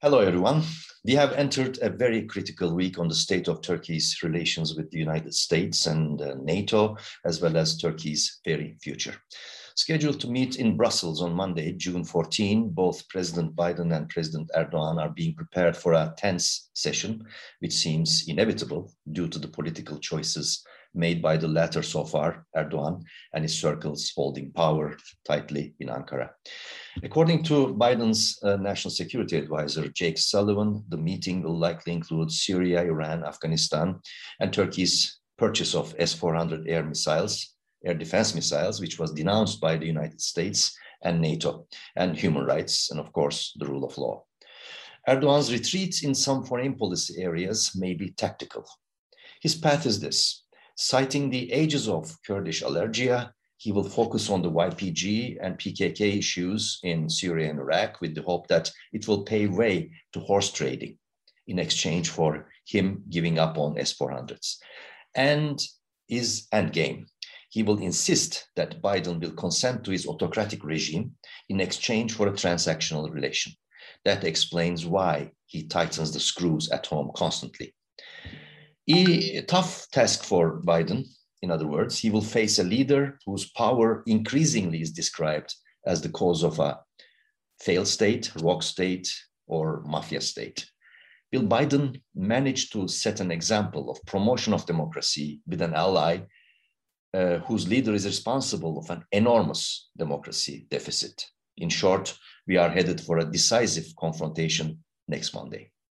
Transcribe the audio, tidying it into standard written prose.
Hello, everyone. We have entered a very critical week on the state of Turkey's relations with the United States and NATO, as well as Turkey's very future. Scheduled to meet in Brussels on Monday, June 14, both President Biden and President Erdogan are being prepared for a tense session, which seems inevitable due to the political choices made by the latter so far, Erdogan, and his circles holding power tightly in Ankara. According to Biden's National Security Advisor, Jake Sullivan, the meeting will likely include Syria, Iran, Afghanistan, and Turkey's purchase of S-400 air defense missiles, which was denounced by the United States and NATO, and human rights, and of course, the rule of law. Erdogan's retreat in some foreign policy areas may be tactical. His path is this. Citing the ages of Kurdish allergia, he will focus on the YPG and PKK issues in Syria and Iraq with the hope that it will pave way to horse trading in exchange for him giving up on S-400s. And his endgame, he will insist that Biden will consent to his autocratic regime in exchange for a transactional relation. That explains why he tightens the screws at home constantly. A tough task for Biden. In other words, he will face a leader whose power increasingly is described as the cause of a failed state, rogue state, or mafia state. Will Biden manage to set an example of promotion of democracy with an ally whose leader is responsible of an enormous democracy deficit? In short, we are headed for a decisive confrontation next Monday.